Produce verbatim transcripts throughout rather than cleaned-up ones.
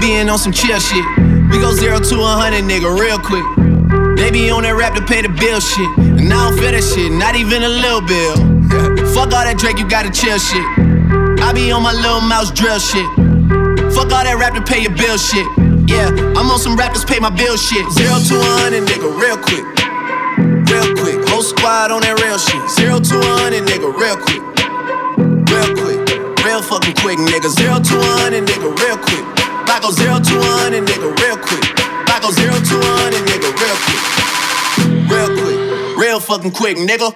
being on some chill shit. We go zero to a hundred, nigga, real quick. They be on that rap to pay the bill shit. And I don't feel that shit, not even a little bill. Fuck all that Drake, you gotta chill shit. I be on my little mouse drill shit. Fuck all that rap to pay your bill shit. Yeah, I'm on some rappers pay my bill shit. Zero to a hundred, nigga, real quick. Real quick, whole squad on that real shit. Zero to a hundred, nigga, real quick. Real quick, real fucking quick, nigga. Zero to a hundred, nigga, real quick. I go zero to a hundred, nigga, real quick. I go zero to a hundred, nigga, real quick. Real quick, real fucking quick, nigga.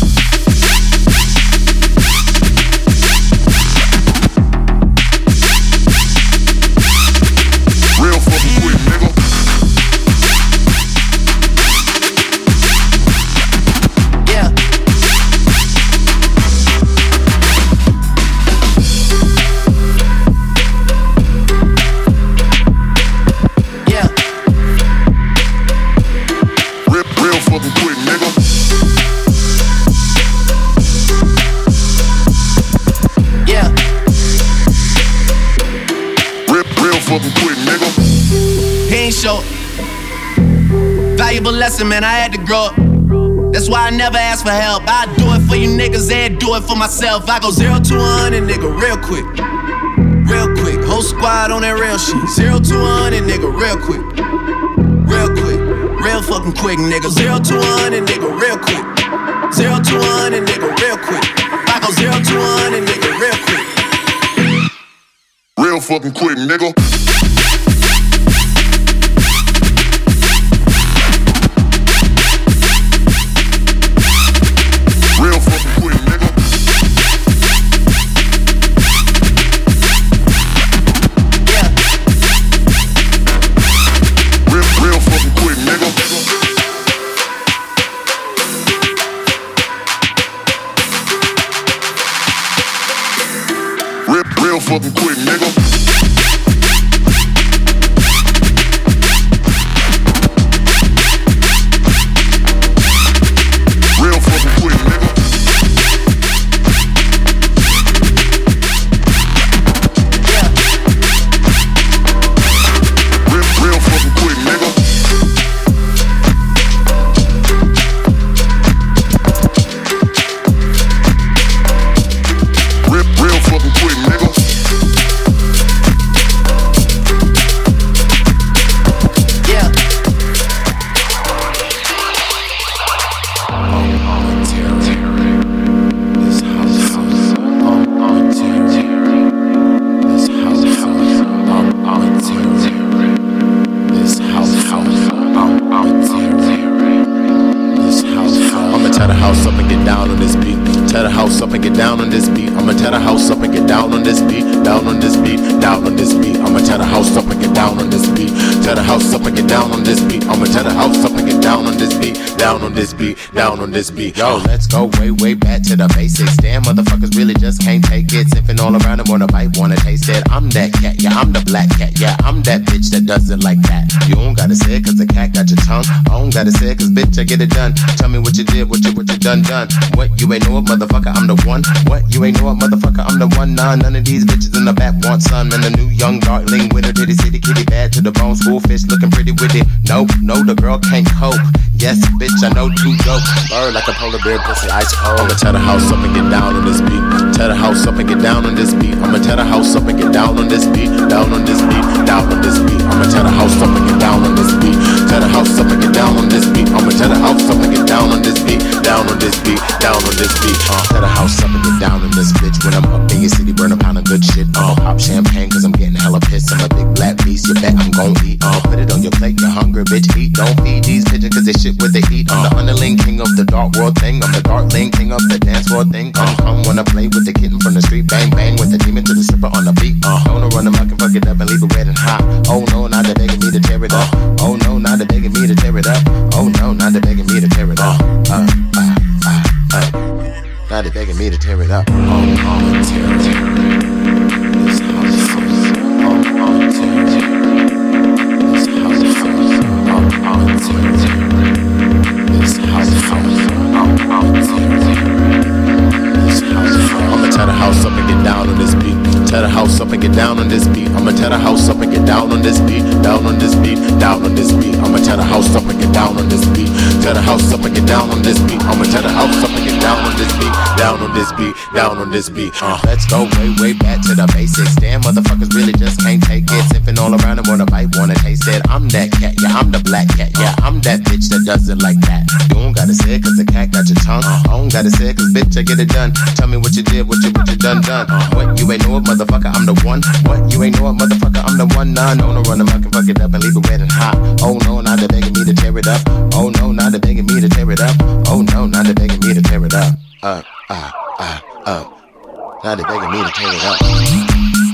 Real fucking quick, nigga. Yeah. Yeah. Real, real fucking quick, nigga. Yeah. Real, real fucking quick, nigga. He ain't short. Valuable lesson, man, I had to grow up. That's why I never ask for help. I do it for you niggas and do it for myself. I go zero to a hundred, nigga, real quick. Real quick, whole squad on that real shit. Zero to a hundred, nigga, real quick. Real quick, real fucking quick, nigga. Zero to a hundred, nigga, real quick. Zero to a hundred, nigga, real quick. I go zero to a hundred, nigga, real quick. Real fucking quick, nigga. Real fucking quick, nigga. Yeah. Real, real fucking quick, nigga. Real, real fucking quick, nigga. Real fucking quick, nigga. Yeah. Real, real fucking quick, nigga. Real, real fucking quick, nigga. Yeah. I'ma tear the house up and get down on this beat. Tear the house up and get down on this beat. I'ma tear the house up and get down on this beat. Down on this beat, down on this beat. I'ma tear the house up and get down on this beat. Tear the house up and get down on this beat. I'ma tear the house up and get down on this beat. Down on this beat, down on this beat. Yo, let's go way, way back to the basics. Damn, motherfuckers really just can't take it. Sipping all around them, wanna bite, wanna taste it. I'm that cat, yeah, I'm the black cat. Yeah, I'm that bitch that does it like that. You don't gotta say it cause the cat got your tongue. I don't gotta say it cause bitch, I get it done. Tell me what you did, what you, what you done, done. What, you ain't know it, motherfucker, I'm the one. What, you ain't know it, motherfucker, I'm the one. Nah, none of these bitches in the back want some. And the new young darling winner, titty city kitty bad to the bone. School fish looking pretty with it. Nope, no, the girl can't cope. Yes, bitch, I know too dope. Bird like a polar bear, pussy ice cold. I'ma tear the house up and get down on this beat. Tear the house up and get down on this beat. I'ma tear the house up and get down on this beat. Down on this beat, down on this beat. I'ma tear the house up and get down on this beat. Tear the house up and get down on this beat. I'ma tear the house up and get down on this beat. Down on this beat, down on this beat. Uh, tear the house up and get down on this bitch. When I'm up in your city, burn a pound of good shit. Uh, pop champagne cause I'm getting hella pissed. I'm a big black beast, you bet I'm gon' eat. Uh, put it on your plate, you're hungry, bitch, eat. Don't feed these pigeons cause they shit with the heat. I'm the underling king of the dark world thing. I'm the darkling king of the dance floor thing. Come, come, wanna play with the kitten from the street. Bang, bang with the demon to the stripper on the beat. Uh, wanna run them, I can fuck it up and leave it red and hot. Oh no, now they're begging me to tear it up. Oh no, now they're begging me to tear it up. Oh no, now they're begging me to tear it up. Uh, uh, uh, uh. Now they're begging me to tear it up. Oh, oh, tear it, tear it. This house is oh, oh, tear it, tear it. This house is oh, oh, tear it, tear it. This house is oh, oh, tear it, tear it. This house is I'ma tear the house up and get down on this beat. Tear the house up and get down on this beat. I'ma tear the house up and get down on on this beat, down on this beat, down on this beat. I'ma tear the house up and get down on this beat. Tear the house up and get down on this beat. I'ma tear the house up and get down on this beat, down on this beat, down on this beat. Uh. Let's go way, way back to the basics. Damn, motherfuckers really just can't take it. Sipping all around and wanna bite, wanna taste it. I'm that cat, yeah, I'm the black cat, yeah, I'm that bitch that does it like that. You don't gotta say it cause the cat got your tongue. I don't gotta say it cause bitch, I get it done. Tell me what you did, what you, what you done, done. What, you ain't know it, motherfucker, I'm the one. What, you ain't know it, motherfucker, I'm the one. Nah, no, no, run them, I can fuck it up and leave it wet and hot. Oh no, now they're begging me to tear it up. Oh no, now they're begging me to tear it up. Oh no, now they're begging me to tear it up. Uh, uh, uh, uh. Now they're begging me to tear it up.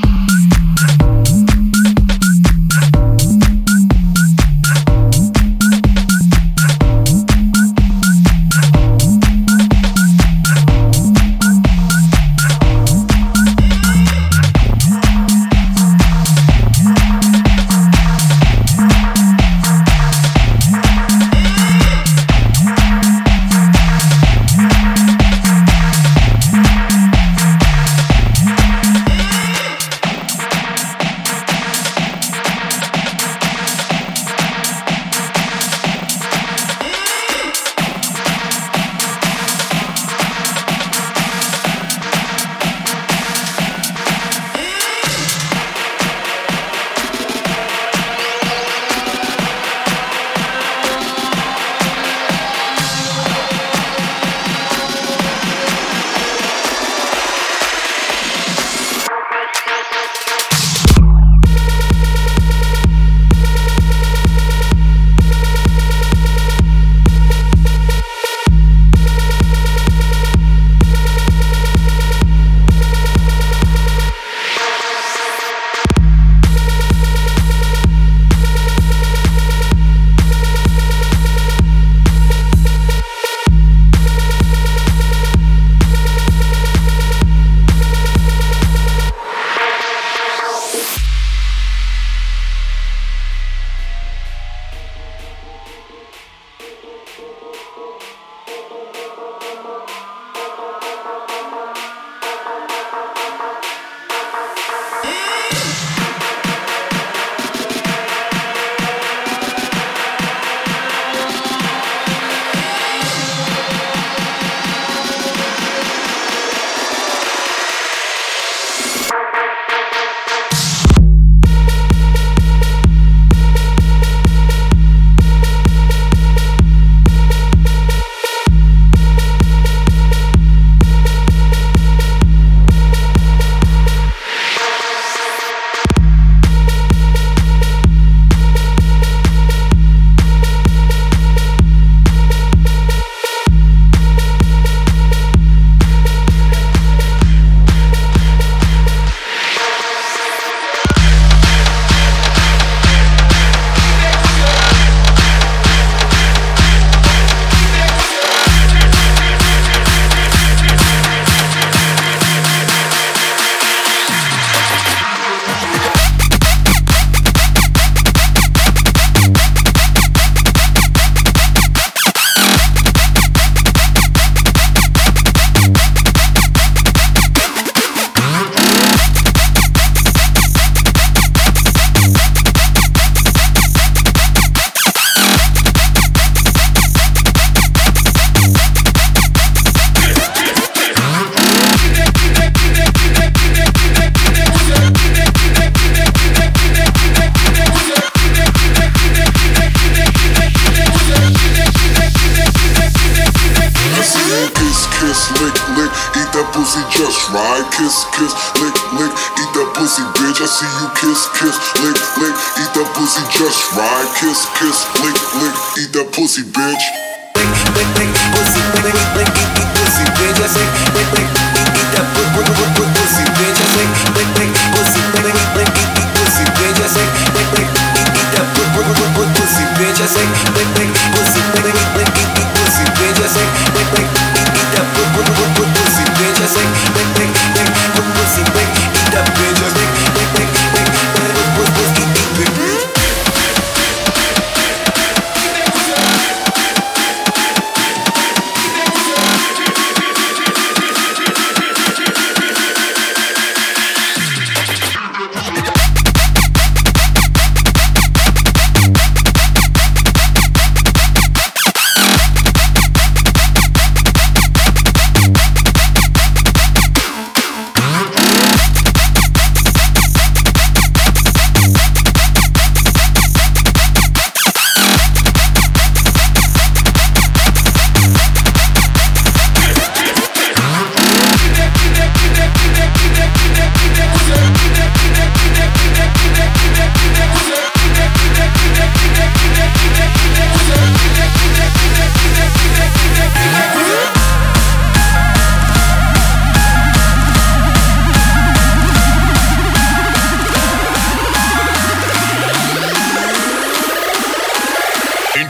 right. Kiss, kiss, lick, lick, eat that pussy, bitch. I see you kiss, kiss, lick, lick, eat that pussy just right. Kiss, kiss, lick, lick, eat that pussy, bitch. Lick, lick, lick, pussy, lick, lick, lick, eat, eat pussy, bitch. I say, lick, lick, eat, eat that pussy, bitch. I say, lick, lick, pussy, lick, lick, lick, eat, eat pussy, bitch. I say, lick, lick, eat, eat that pussy, bitch. I say, lick, lick, pussy, lick, lick, lick, eat, eat pussy, bitch. I say, lick, lick, eat, eat that pussy, bitch. I say, lick, lick, lick, pussy, lick, eat that bitch. I say, lick, lick, lick, pussy, eat, eat bitch.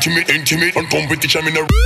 Intimate, intimate, on competition in a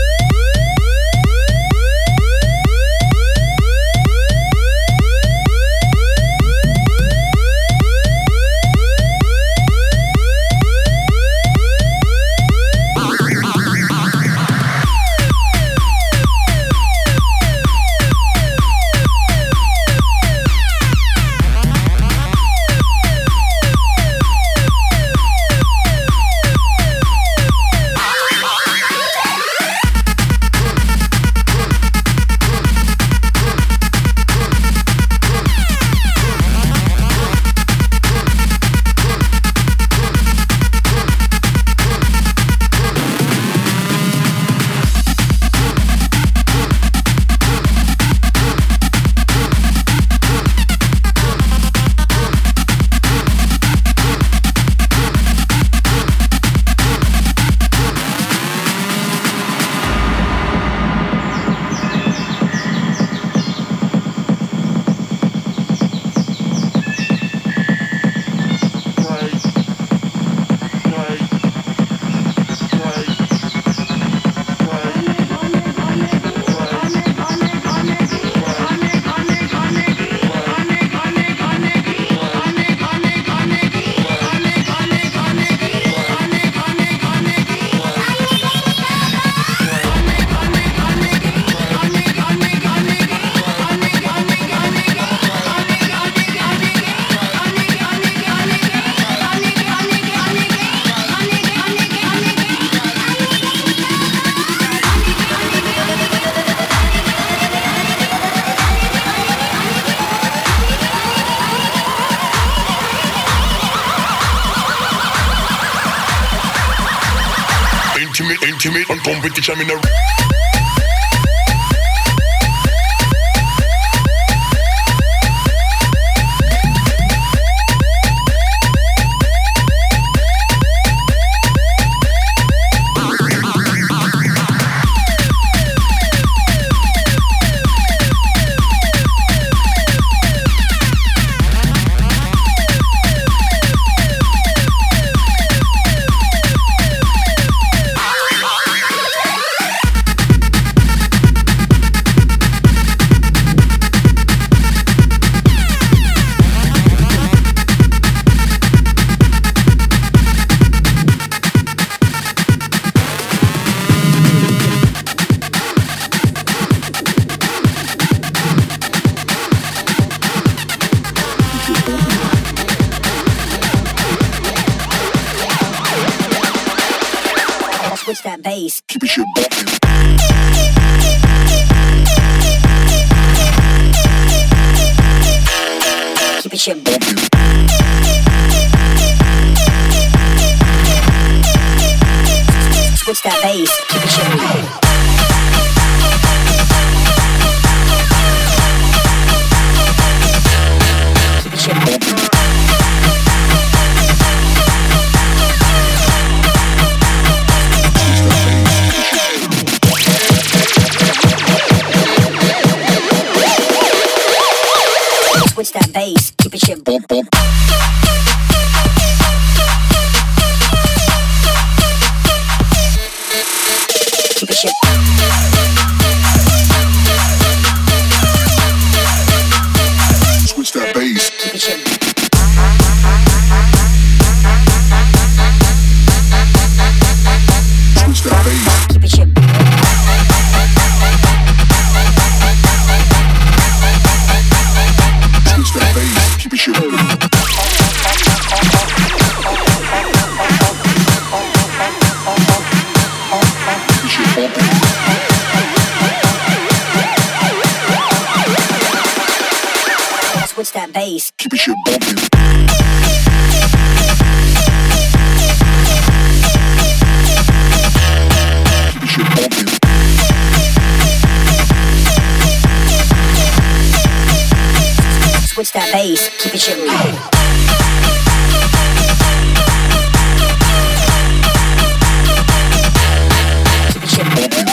intimate, intimate, on competition in a switch that bass. keep it shit bumping. Keep it shit bumping. Switch that bass. Keep it shit bumping. Keep it shit bumping. Switch that bass, keep it shit bump bump. Keep it shit. Switch that bass, keep it shit. Switch that bass, keep it shit. Switch that bass, keep it shit bumping. Keep it shit bumping. Switch that bass, Keep it shit bumping. Keep it shit bumping. switch that bass, keep it shit moving. Keep it shit moving.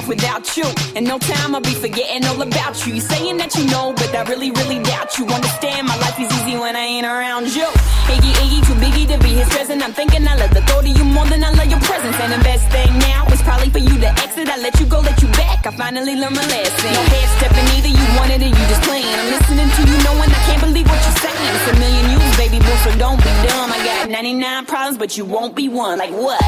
without you. In no time I'll be forgetting all about you. You saying that you know, but I really, really doubt you. Understand my life is easy when I ain't around you. Iggy, Iggy, too biggy to be his present. I'm thinking I love the thought of you more than I love your presence. And the best thing now is probably for you to exit. I let you go, let you back. I finally learned my lesson. No head stepping either, you wanted it, you just playing. I'm listening to you knowing I can't believe what you're saying. It's a million yous, baby boo, so don't be dumb. I got ninety-nine problems, but you won't be one. Like what?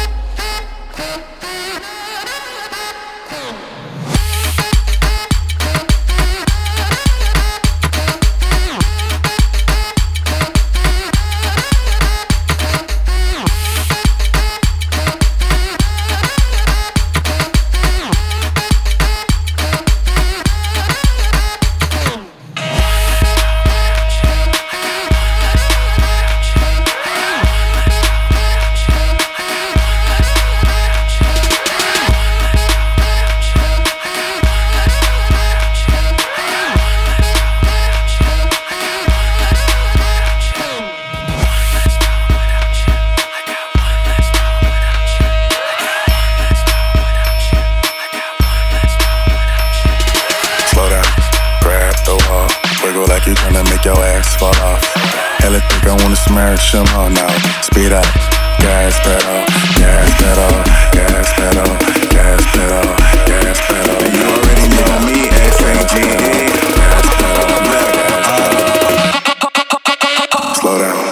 Smash them all now. Speed up, gas pedal, gas pedal, gas pedal, gas pedal, gas pedal. You already know me, S A G E. Gas pedal, uh, slow down.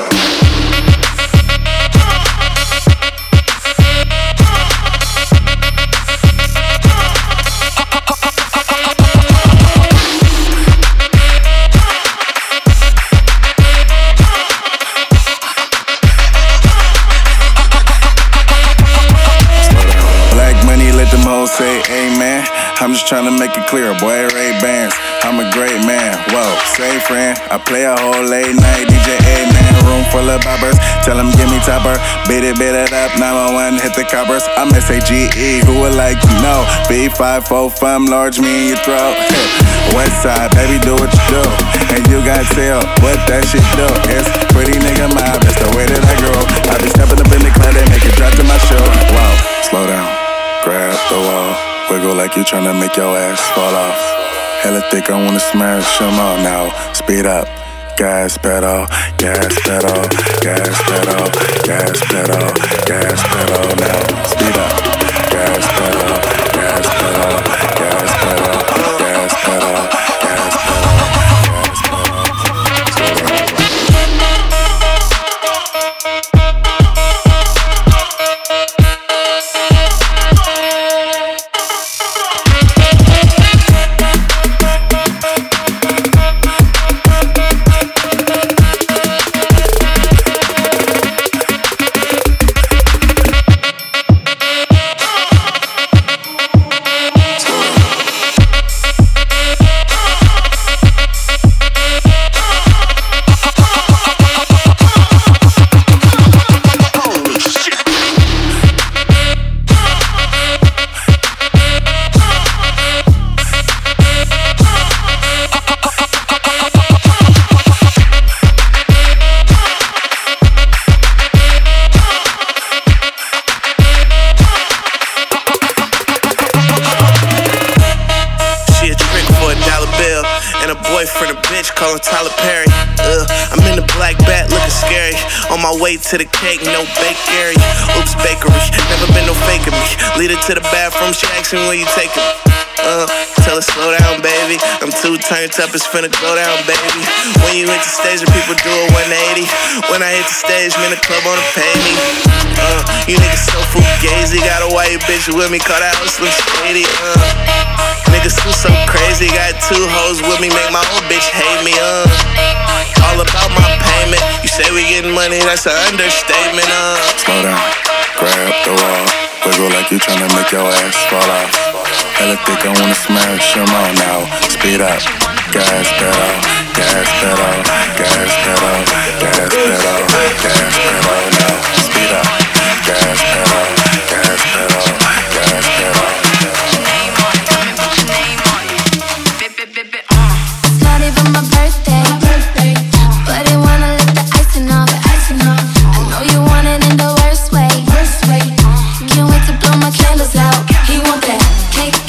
Say amen. I'm just trying to make it clear, boy, Ray-Bans. I'm a great man, whoa, say friend. I play a whole late night D J A-man. Room full of boppers, tell them give me topper. Beat it, beat it up, nine one one, hit the coppers. I'm S A G E, who would like to know? B five four, fam, large me in your throat. West side, baby, do what you do. And you got tell what that shit do. It's pretty nigga mob, that's the way that I grow. I be stepping up in the club, they make it drop to my show. Wow, slow down. Grab the wall, wiggle like you tryna make your ass fall off. Hella thick, I wanna smash them all now. Speed up, gas pedal, gas pedal, gas pedal, gas pedal, gas pedal now. Speed up, gas pedal, gas pedal, gas pedal, gas pedal, gas pedal, gas pedal. Tyler Perry, uh, I'm in the black bat looking scary. On my way to the cake, no bakery. Oops, bakery, never been no faking me. Lead her to the bathroom, she asking where you taking me. Uh, tell her slow down, baby. I'm too turned up, it's finna go down, baby. When you hit the stage, the people do a one eighty. When I hit the stage, man, the club wanna pay me. Uh, you niggas so fugazi, got a white bitch with me, call that house Slim Shady. Uh, niggas too so crazy, got two hoes with me, make my old bitch hate me. Uh, all about my payment. You say we getting money, that's an understatement. Uh, slow down, grab the wall, wiggle like you tryna make your ass fall off. Hella thick, I wanna smash them all now. Speed up, gas pedal, gas pedal, gas pedal, gas pedal, gas pedal now. Speed up, gas pedal, gas pedal, gas pedal. It's not even my birthday, but they wanna lick the icing off. I know you want it in the worst way. Can't wait to blow my candles out. He want that cake.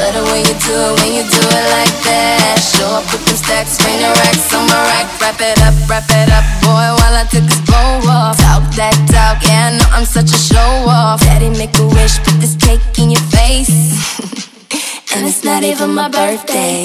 Love the way you do it when you do it like that. Show up with them stacks, bring the racks on my rack. Wrap it up, wrap it up, boy, while I take this bow off. Talk that talk, yeah, I know I'm such a show off. Daddy, make a wish, put this cake in your face. And it's not even my birthday.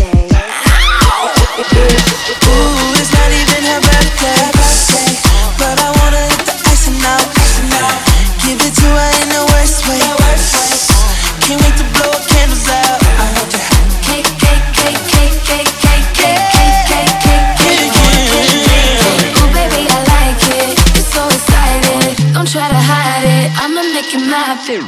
Ooh, it's not even her birthday. But I wanna hit the icing out. Give it to her in the worst way. Can't wait to blow her candles out. Cake, cake, cake, cake, cake, cake, cake, cake, cake, cake, cake. Ooh, baby, I like it. You're so excited. Don't try to hide it. I'ma make it my thing.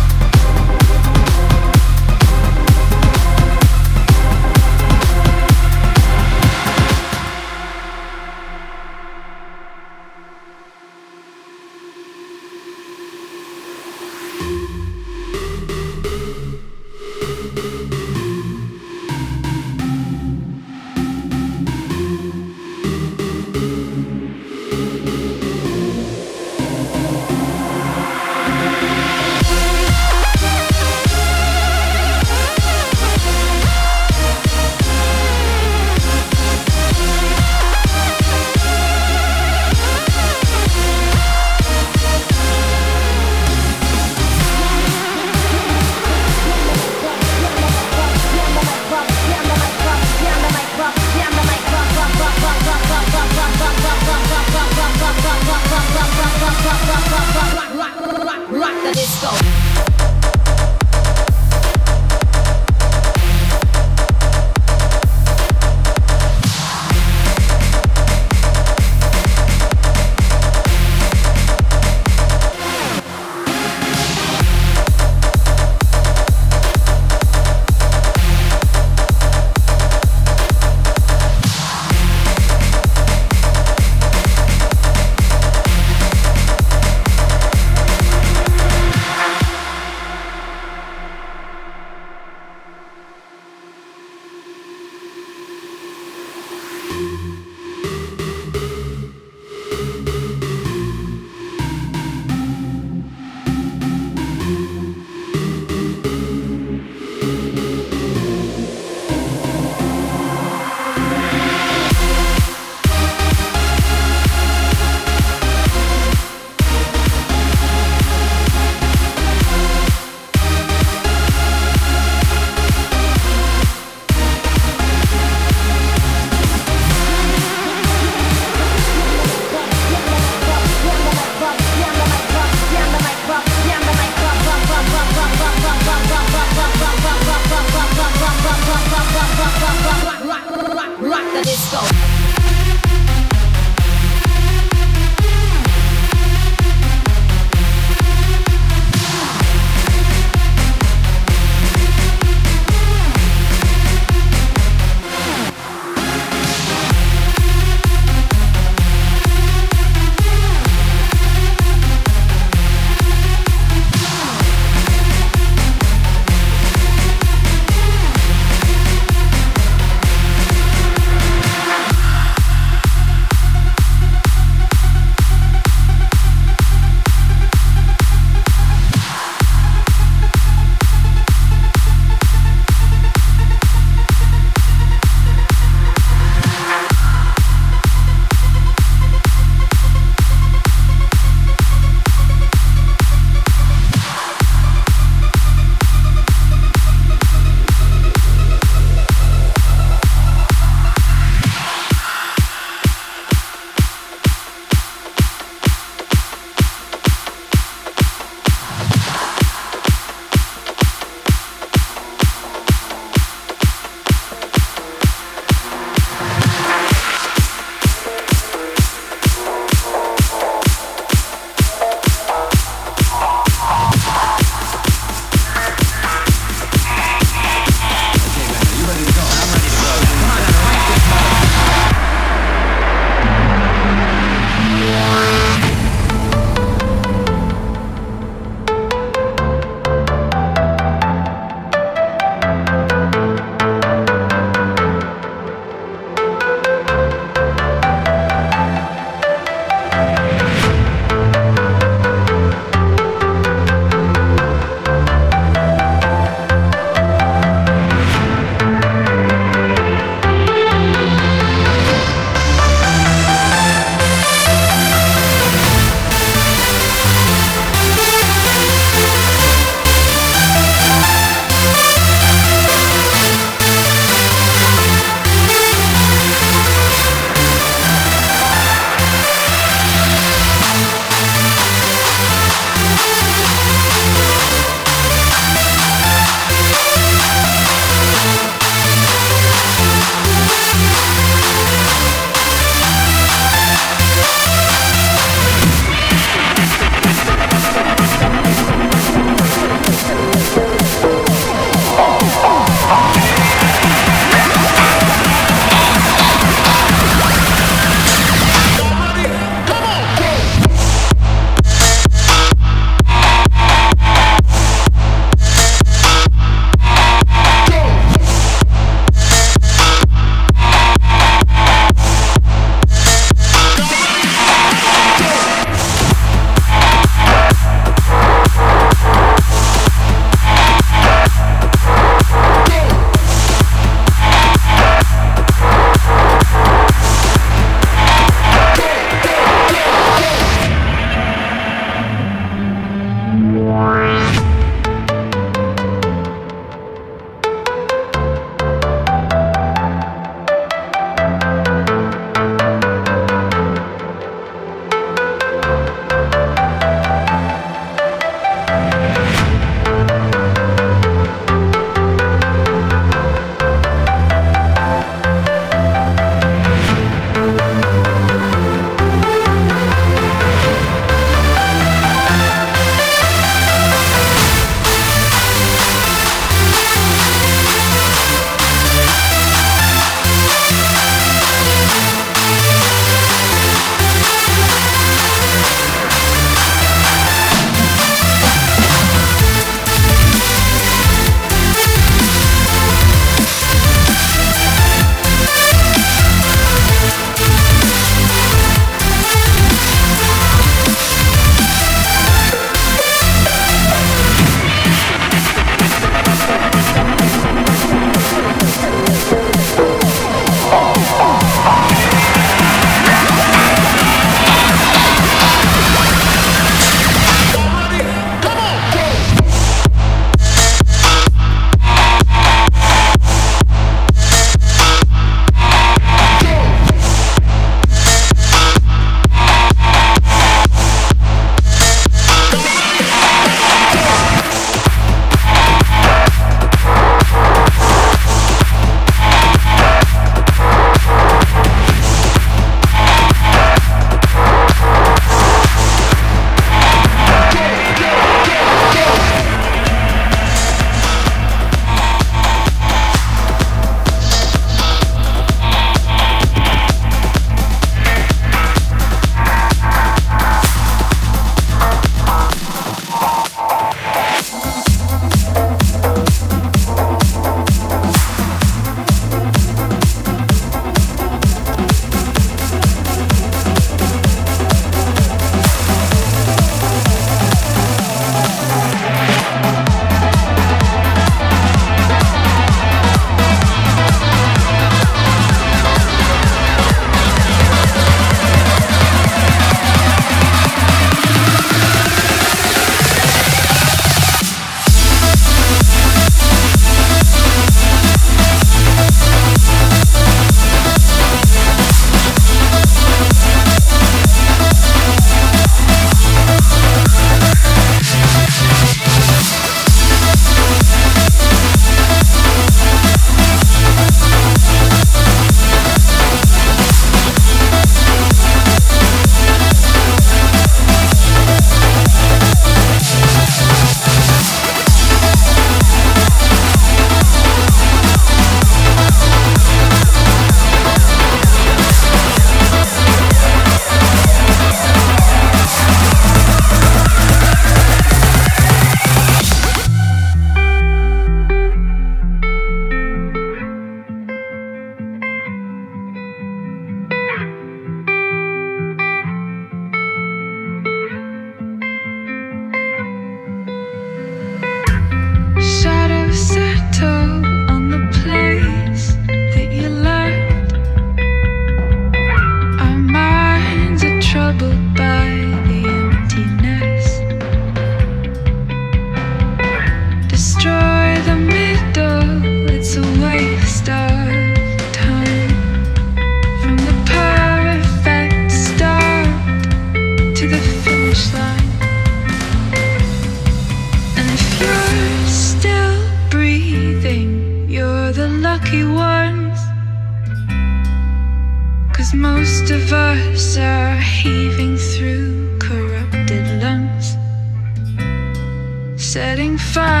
of us are heaving through corrupted lungs, setting fire